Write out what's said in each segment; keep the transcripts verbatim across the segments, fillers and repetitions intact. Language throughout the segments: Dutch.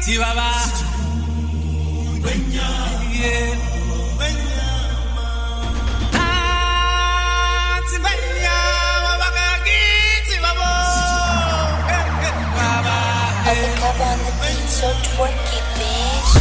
Chihuahua. Yeah. Undercover on the beat, so twerky, bitch.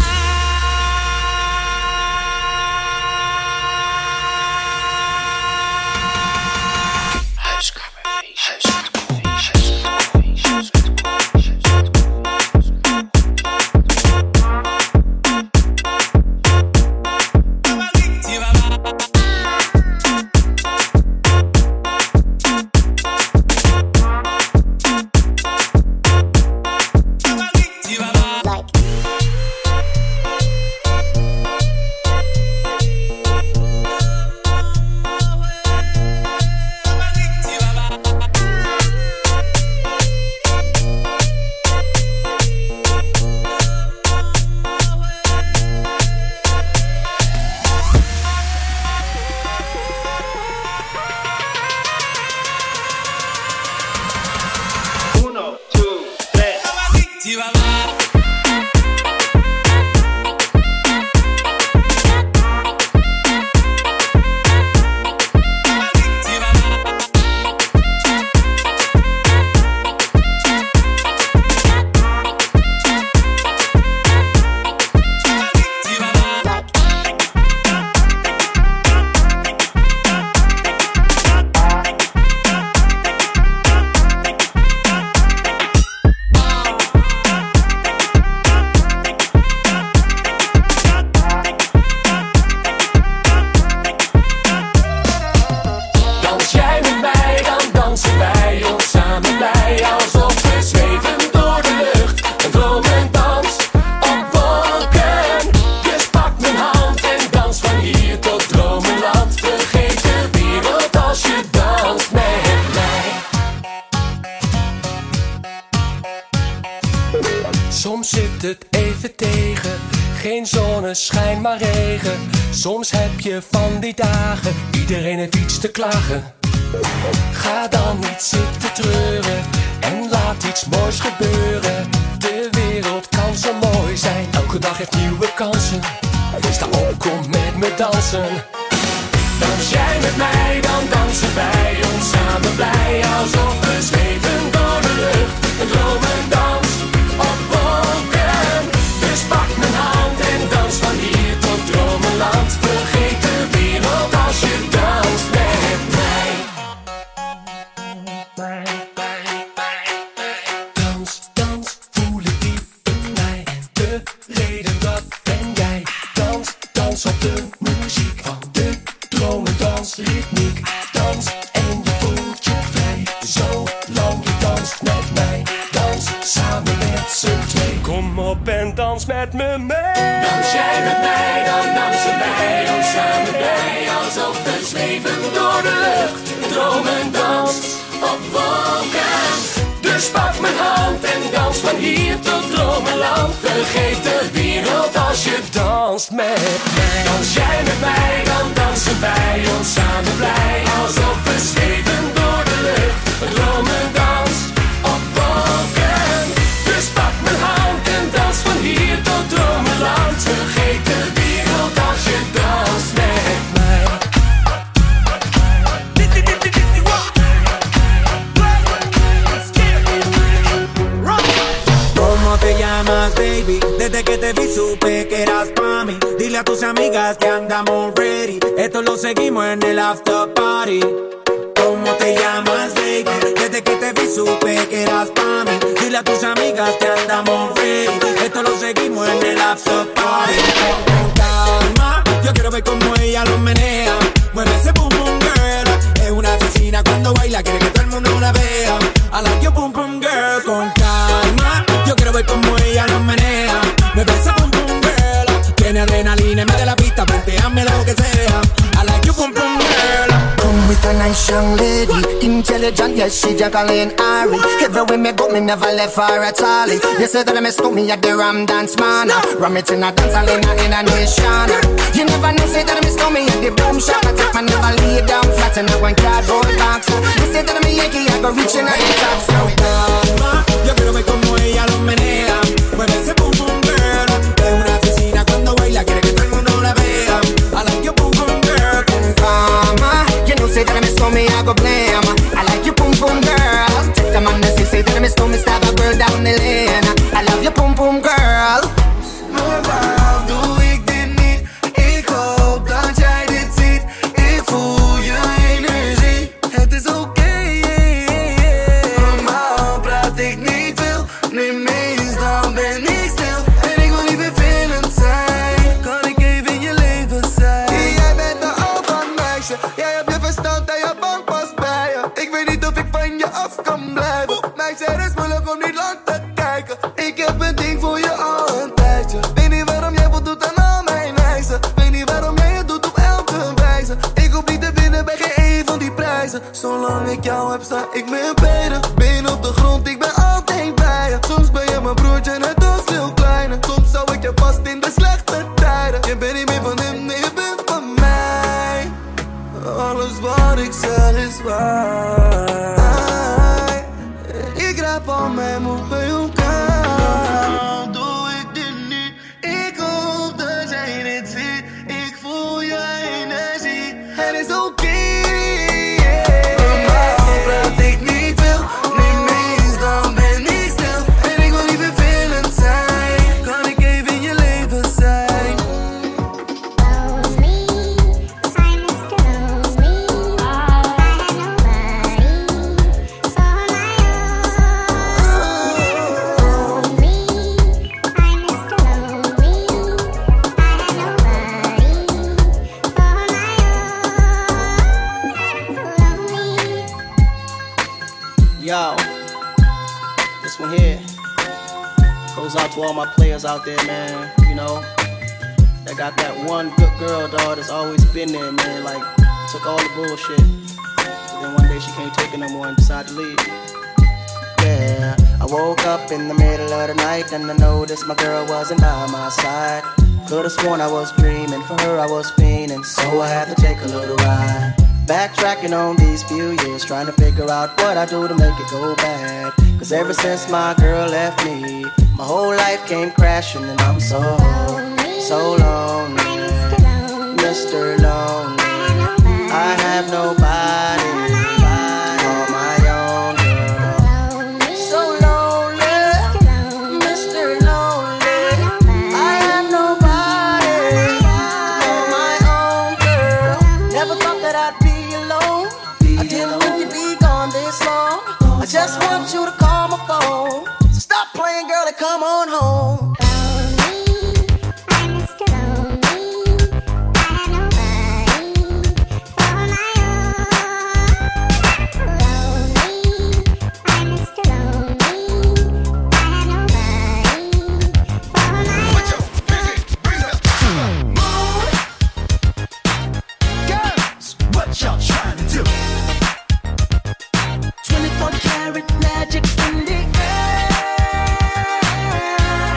Soms zit het even tegen, geen zonneschijn maar regen. Soms heb je van die dagen, iedereen heeft iets te klagen. Ga dan niet zitten treuren en laat iets moois gebeuren. De wereld kan zo mooi zijn, elke dag heeft nieuwe kansen. Sta op, kom met me dansen. Dans jij met mij, dan dansen wij ons samen blij. Alsof we zweven door de lucht, een dromendans op wolken. Dus pak mijn hand en dans van hier tot dromenland. Vergeet de wereld als je danst met mij. Dans, dans, voel ik diep in mij. De reden dat ben jij. Dans, dans op de muziek van de dromendans, ritmiek. Dans en je voelt je vrij. Zolang je danst met mij. Dans samen met z'n twee. Kom op en dans met me mee. Dans jij met mij, dan dansen wij ons samen bij. Alsof we zweven door de lucht. Dromendans op wolken. Dus pak mijn hand en dans van hier tot dromenland. Vergeet de wereld als je danst met mij. Dans jij met mij, dan dansen wij ons samen blij. Alsof we zweven door de lucht. Een dromendans op wolken. Dus pak mijn hand en dans van hier tot dromenland. Vergeet de wereld als je danst met mij. ¿Cómo te llamas, baby? Desde que te vi supe que eras pa' mí. Dile a tus amigas que andamos ready. Esto lo seguimos en el after party. ¿Cómo te llamas, baby? Desde que te vi supe que eras pa' mí. Dile a tus amigas que andamos ready. Esto lo seguimos en el after party. Con calma, yo quiero ver cómo ella lo menea. Mueve ese boom boom girl. Es una asesina cuando baila, quiere que todo el mundo la vea. I like your boom boom girl. Con calma, yo quiero ver cómo ella lo menea. Mueve ese boom boom girl. Tiene adrenalina en medio de la pista, planteame lo que sea. I like your boom boom girl. Come with a nice young lady, intelligent, yes, she Jacqueline Ari. Everywhere me go, me never left her at all. You say that I miss me at the Ram Dance Man. Ram it in a dance hall in a, in a nation. You never know, say that I miss me at the Boom Shop. I take my never lay down flat in a one cardboard box. You say that I'm a Yankee, I go reaching at the top. So calma, yo quiero ver cómo ella lo menea. Mueve ese boom boom kan blijven. Mij zei het is moeilijk om niet lang te kijken. Ik heb een ding voor je al een tijdje. Weet niet waarom jij voldoet aan al mijn eisen. Weet niet waarom jij het doet op elke wijze. Ik hoef niet te winnen bij geen een van die prijzen. Zolang ik jou heb, sta ik met beide benen op de grond, ik ben altijd bij je. Soms ben je mijn broertje, net als veel kleiner. Soms zou ik je vast in de slechte tijden. Je bent niet meer van hem, nee, je bent van mij. Alles wat ik zeg is waar. Ik raap al mijn moed bij elkaar. Doe ik dit niet, ik hoop dat jij dit ziet. Ik voel je energie, het is oké. Normaal praat ik niet veel, niet meest, dan ben ik stil. En ik wil niet vervelend zijn, kan ik even in je leven zijn. Lonely, I'm Mister Lonely. I have nobody, so on my own. Lonely, I'm Mister Lonely. I have nobody, so on my own. Lonely. Yo, this one here goes out to all my players out there, man. You know, that got that one good girl, dog, that's always been there, man. Like, took all the bullshit. But then one day she can't take it no more and decided to leave. Yeah, I woke up in the middle of the night and I noticed my girl wasn't by my side. Could've sworn I was dreaming, for her I was fiending, so I had to take a little ride. Backtracking on these few years, trying to figure out what I do to make it go bad. Cause ever since my girl left me, my whole life came crashing and I'm so, so lonely. Mister Lonely, I have nobody, call my own girl. So lonely, Mister Lonely, I have nobody, call my own girl. Never thought that I'd be alone, I didn't think you'd be gone this long. I just want you to call my phone, so stop playing, girl, and come on home. Y'all trying to do twenty-four karat magic in the air.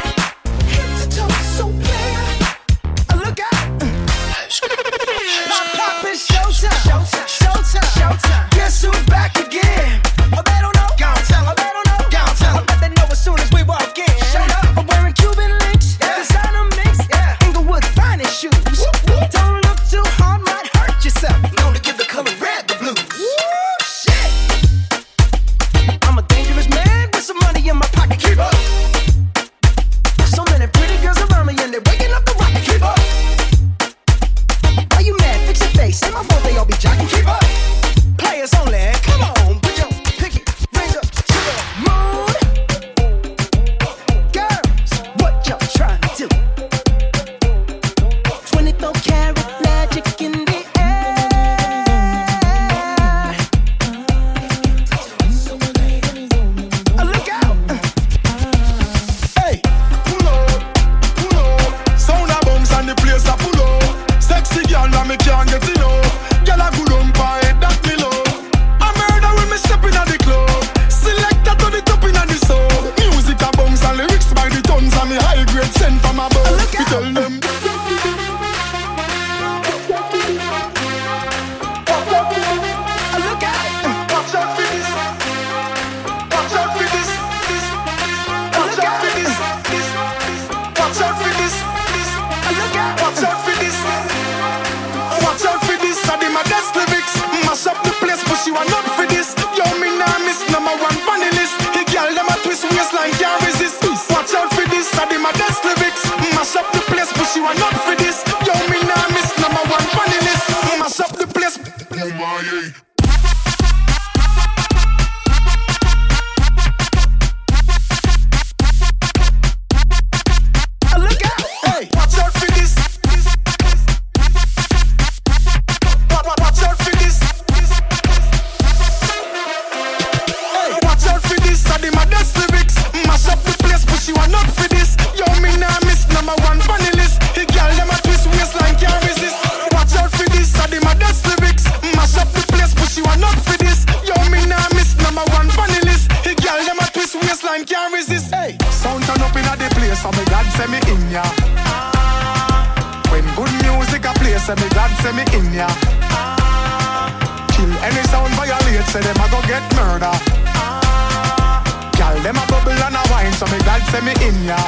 so me God send me in ya. When good music a play, say me God send me in ya. Kill any sound violate, say them a go get murder. Girl, them a bubble and a wine, so me God send me in ya.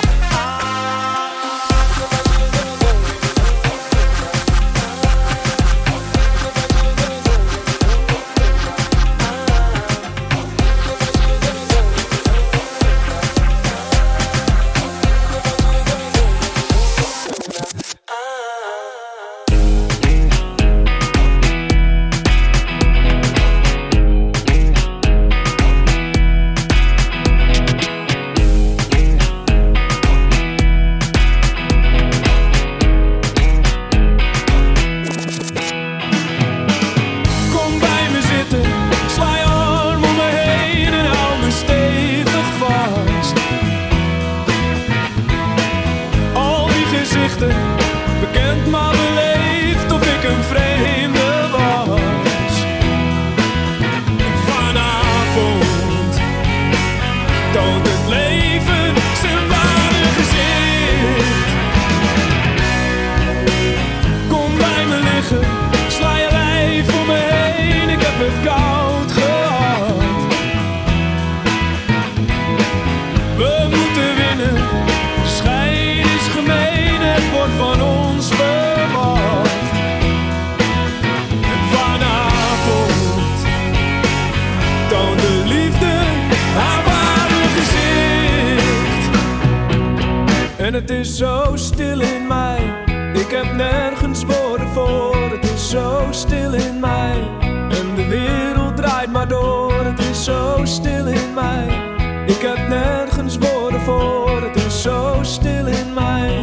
En het is zo stil in mij, ik heb nergens woorden voor. Het is zo stil in mij, en de wereld draait maar door. Het is zo stil in mij, ik heb nergens woorden voor. Het is zo stil in mij.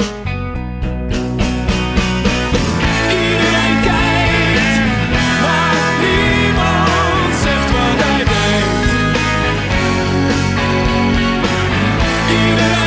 Iedereen kijkt, maar niemand zegt wat hij denkt. Iedereen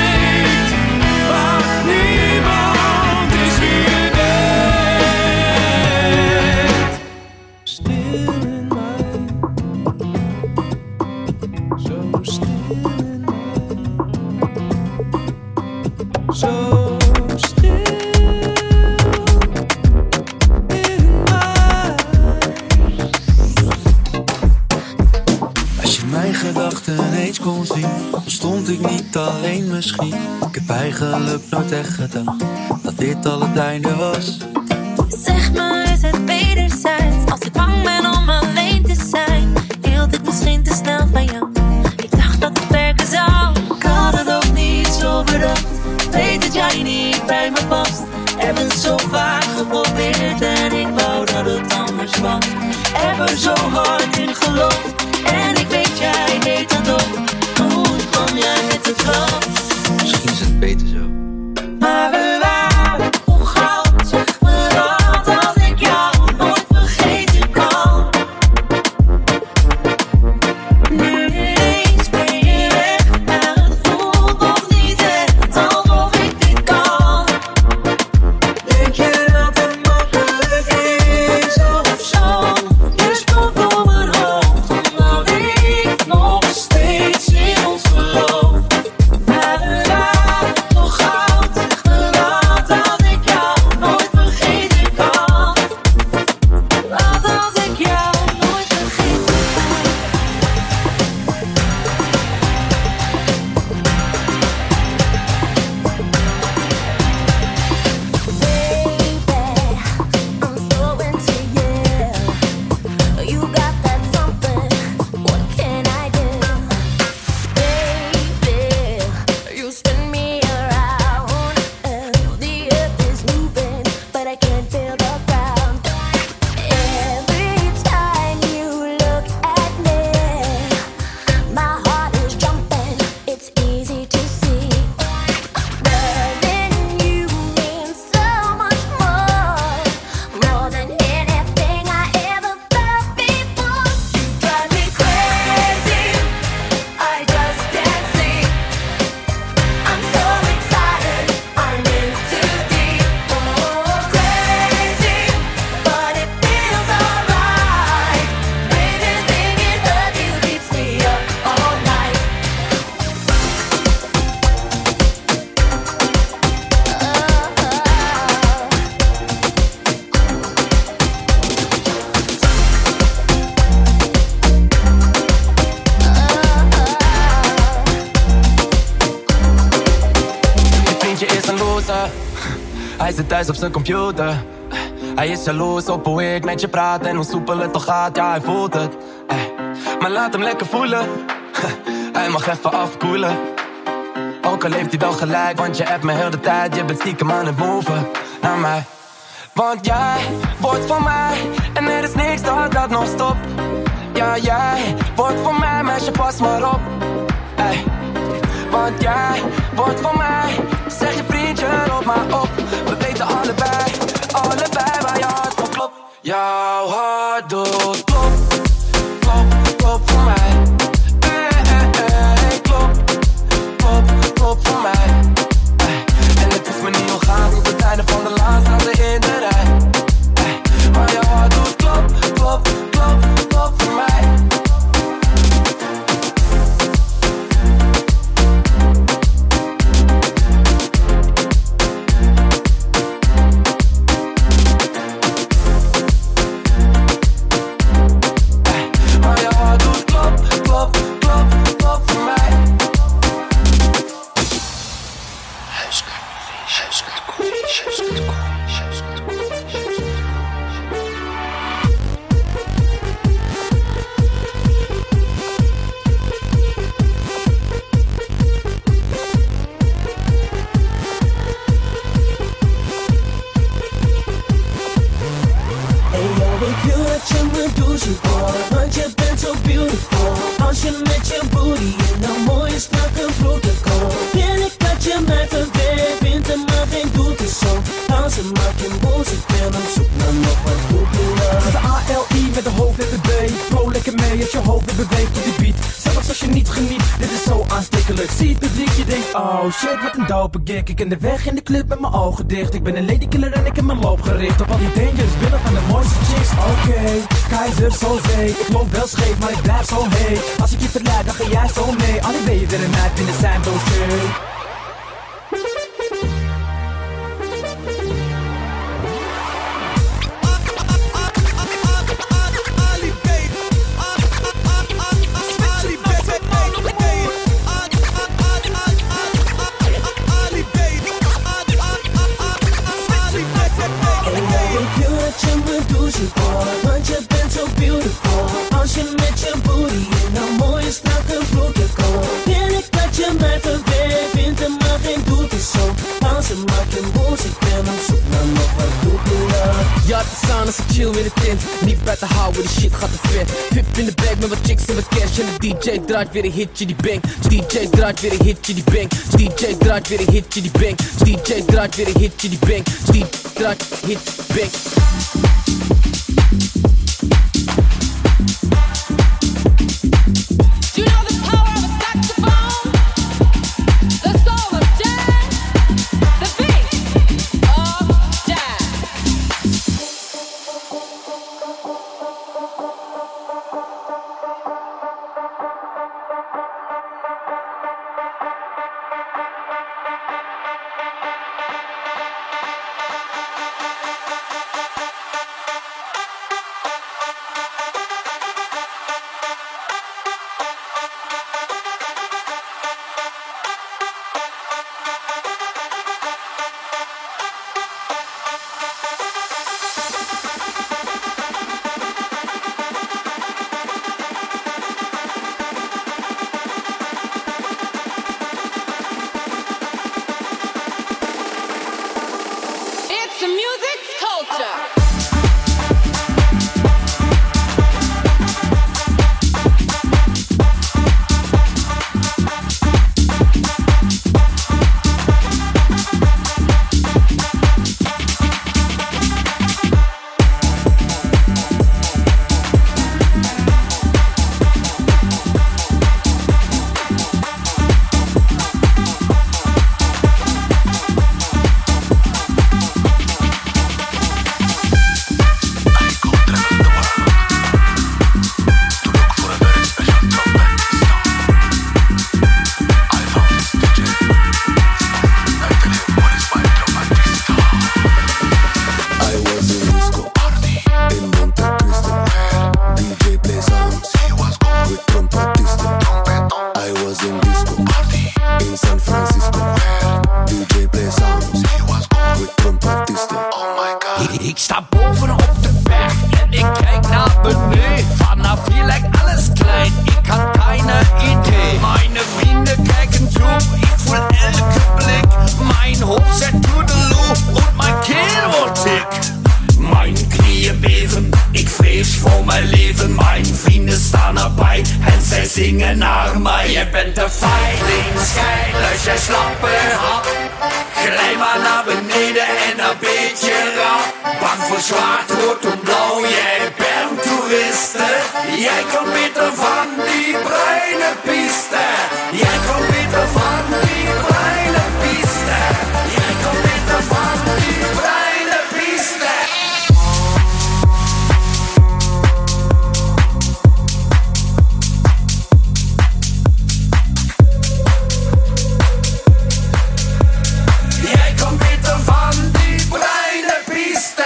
stond ik niet alleen misschien. Ik heb eigenlijk nooit echt gedacht dat dit al het einde was. Zeg me, is het wederzijds? Als ik bang ben om alleen te zijn, hield ik misschien te snel van jou. Ik dacht dat het werken zou. Ik had het ook niet zo bedacht. Weet dat jij niet bij me past. Heb het zo vaak geprobeerd en ik wou dat het anders was. Heb er zo hard in geloofd en ik weet jij deed dat ook. Kom jij met de klap? Misschien is het beter zo. Maar we waren hoe gauw. Zeg me dat als ik jou nooit vergeten kan. Nu ineens ben je weg, maar het voelt nog niet echt alsof ik dit kan. Denk je dat het makkelijk is of zo? Je stond door mijn hoofd. Hij zit thuis op zijn computer. Hij is jaloers op hoe ik met je praat en hoe soepel het toch gaat, ja hij voelt het. Maar laat hem lekker voelen. Hij mag even afkoelen. Ook al heeft hij wel gelijk, want je appt me heel de tijd. Je bent stiekem aan het moven naar mij. Want jij wordt van mij en er is niks dat dat nog stopt. Ja, jij wordt van mij, meisje, pas maar op. Ey. Want jij wordt van mij, zeg je vriendje, roep maar op. We weten allebei, allebei waar je hart voor klopt. Jouw hart doet klop, klop, klop voor mij. Ey, ey, ey, klop, klop, klop voor mij. Ey. En het is me niet ongaan tot het einde van de laatste in de rij. Ey. Maar jouw hart doet klop, klop, klop, klop voor mij. Ik ken de weg in de club met mijn ogen dicht. Ik ben een ladykiller en ik heb mijn loop gericht op al die dangerous billen van de mooiste chicks. Oké, okay, keizer zo zee. Ik loop wel scheef, maar ik blijf zo heet. Als ik je verleid, dan ga jij zo mee. Alle ben je er een uit binnen zijn doosje. Want je bent zo beautiful. Als je met je booty in een mooie strakke broekje komt. Wil ik dat je mij verweert. Vindt er maar geen doet is zo. Als ze maakt je moes, ik ben op zoek naar nog wat doet me love. Ja, te staan als ik chill in de tent. Niet bij te houden, die shit gaat te ver. Vip in de bag met wat chicks en wat cash. En de D J draait weer een hitje die bang. D J draait weer een hitje die bang. D J draait weer een hitje die bang. D J draait weer een hitje die bang. D J draait hit bang. zwaar, maar je bent een veilingsschijnlus, jij slappe hap. Glij maar naar beneden en een beetje rap. Bang voor zwart, rood en blauw, jij bent toeriste. Jij komt beter van die bruine piste. Jij komt beter van die bruine piste. Jij komt beter van die bruine piste. Jij komt beter van die bruine piste.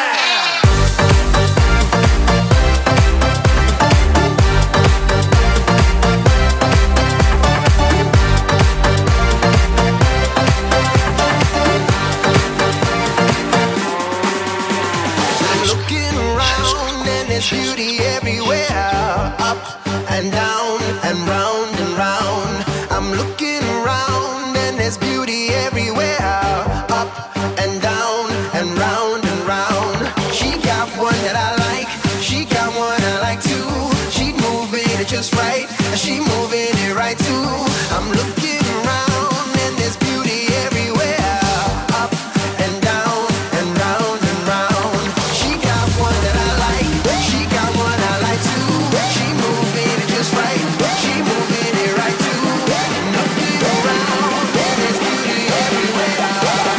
Beauty everywhere, up and down and round and round. I'm looking around and there's beauty everywhere, up and down and round and round. She got one that I like, she got one I like too. She moving it just right, she moving it right too. I'm looking around and there's beauty everywhere, up and down and round and round. She got one that I like. She got one I like too. She moving it just right. She moving it right too. Looking around, and there's beauty everywhere.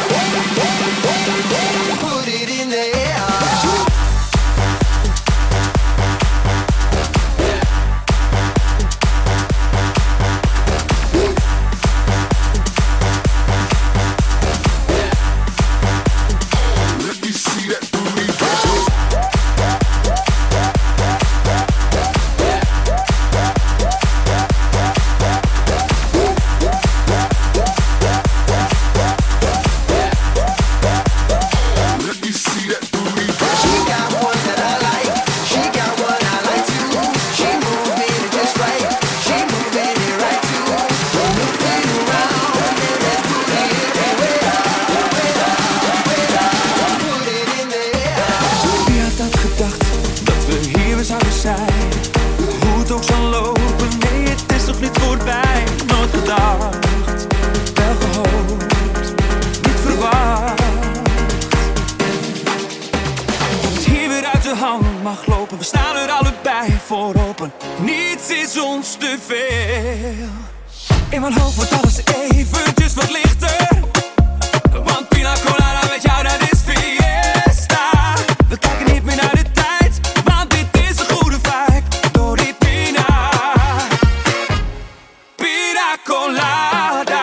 Put it in the air. Let me see that booty. Let me see that booty. She got one that I like. She got one I like too. She moving it just right. She moving it right too. Looking around, and there's beauty everywhere. Put it in the air. Wie had dat gedacht, dat we hier weer zouden zijn? Hoe het ook zal lopen, nee het is toch niet voorbij. Nooit gedacht, wel gehoopt, niet verwacht. Dat het hier weer uit de hand mag lopen, we staan er allebei voor open. Niets is ons te veel. In mijn hoofd wordt alles eventjes wat lichter. Want pina colada met jou, dat is fiesta. We kijken niet meer naar de tijd, want dit is een goede vibe. Door die pina, pina colada.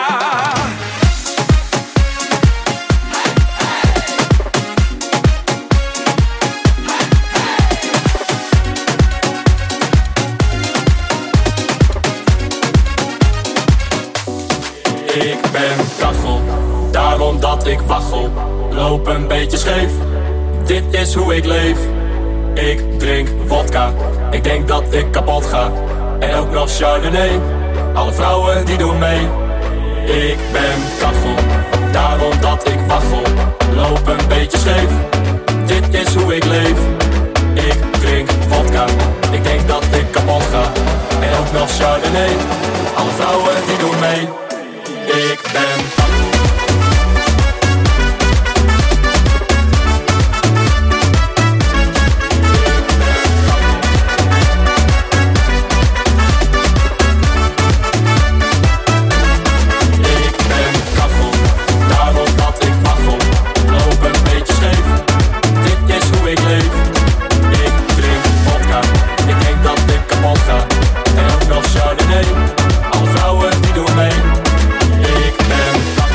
Ik ben kachel, daarom dat ik waggel. Loop een beetje scheef, dit is hoe ik leef. Ik drink vodka, ik denk dat ik kapot ga. En ook nog Chardonnay, alle vrouwen die doen mee. Ik ben kachel, daarom dat ik waggel. Loop een beetje scheef, dit is hoe ik leef. Ik drink vodka, ik denk dat ik kapot ga. En ook nog Chardonnay, alle vrouwen die doen mee. Ik ben kachel, daarom dat ik waggel. Loop een beetje scheef, dit is hoe ik leef. Ik drink vodka, ik denk dat ik kapot ga. En ook nog Chardonnay, alle vrouwen die doen mee. Ik ben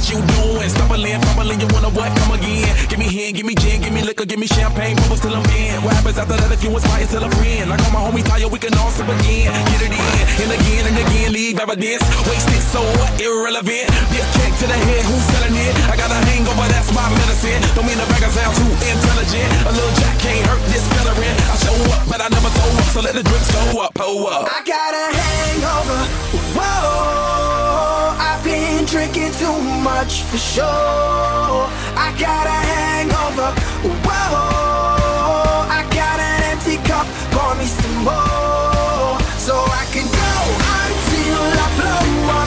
you doing? Stumbling, fumbling, you wanna what? Come again. Give me hand, give me gin, give me liquor, give me champagne, bubbles till I'm in. What happens after that if you inspire till I'm friend? Like all my homies tired, we can all sip again. Get it in, and again and again, leave evidence. Wasted, so what? Irrelevant. Be a kick to the head, who's selling it? I got a hangover, that's my medicine. Don't mean the bag sound too intelligent. A little jack can't hurt this veteran. I show up, but I never throw up, so let the drinks go up, pull up. I got a hangover, whoa. I've been drinking too much for sure. I got a hangover, whoa. I got an empty cup, pour me some more, so I can go until I blow up.